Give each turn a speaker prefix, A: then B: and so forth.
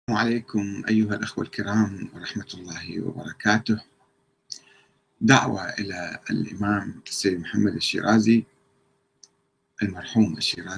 A: السلام عليكم أيها الأخوة الكرام ورحمة الله وبركاته. دعوة إلى الإمام السيد محمد الشيرازي المرحوم الشيرازي